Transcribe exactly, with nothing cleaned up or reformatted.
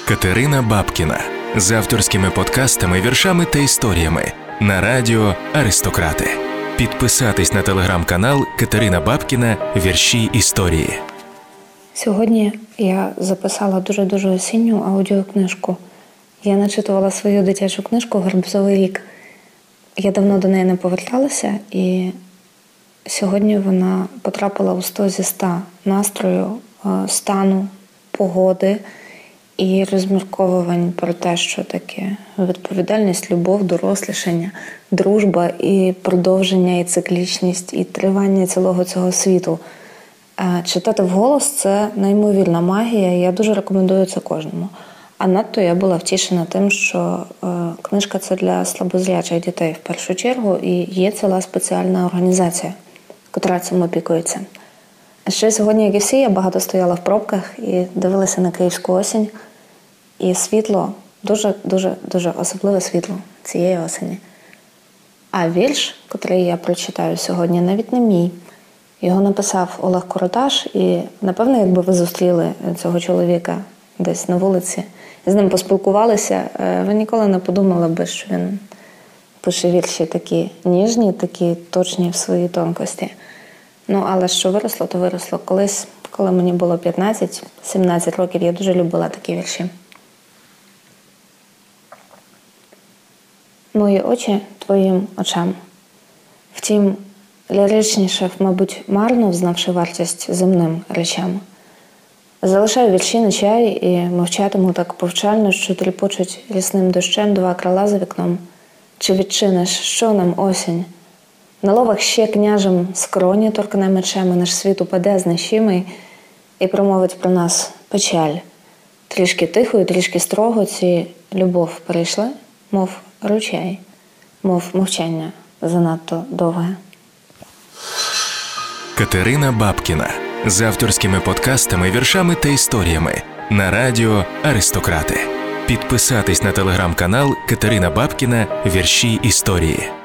Катерина Бабкіна з авторськими подкастами, віршами та історіями на радіо «Аристократи». Підписатись на телеграм-канал Катерина Бабкіна «Вірші історії». Сьогодні я записала дуже-дуже осінню аудіокнижку. Я начитувала свою дитячу книжку «Гарбузовий рік». Я давно до неї не поверталася, і сьогодні вона потрапила у сто зі ста настрою, стану, погоди і розмірковувань про те, що таке відповідальність, любов, дорослішання, дружба і продовження, і циклічність, і тривання цілого цього світу. Читати вголос – це неймовірна магія, і я дуже рекомендую це кожному. А надто я була втішена тим, що е, книжка – це для слабозрячих дітей в першу чергу, і є ціла спеціальна організація, яка цим опікується. А ще сьогодні, як і всі, я багато стояла в пробках і дивилася на київську осінь. І світло, дуже-дуже-дуже особливе світло цієї осені. А вірш, який я прочитаю сьогодні, навіть не мій. Його написав Олег Короташ, і, напевно, якби ви зустріли цього чоловіка десь на вулиці, і з ним поспілкувалися, ви ніколи не подумали би, що він пише вірші такі ніжні, такі точні в своїй тонкості. Ну, але що виросло, то виросло. Колись, коли мені було п'ятнадцять-сімнадцять років, я дуже любила такі вірші. Мої очі твоїм очам. Втім, ліричніше, мабуть, марно взнавши вартість земним речам. Залишаю вірші на чай і мовчатиму так повчально, що тріпочуть рясним дощем два крила за вікном. Чи відчиниш, що нам осінь? На ловах ще княжем скроні торкне мечем, і наш світ упаде знищимий і промовить про нас печаль. Трішки тихо і трішки строго ці любов перейшли, мов ручей, мов мовчання занадто довге. Катерина Бабкіна з авторськими подкастами, віршами та історіями на радіо «Аристократи». Підписатись на телеграм-канал Катерина Бабкіна «Вірші історії».